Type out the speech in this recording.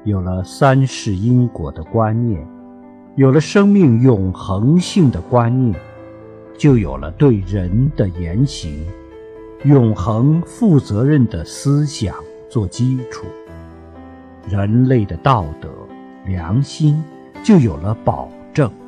有了三世因果的观念，有了生命永恒性的观念，就有了对人的言行永恒负责任的思想做基础，人类的道德良心就有了保证。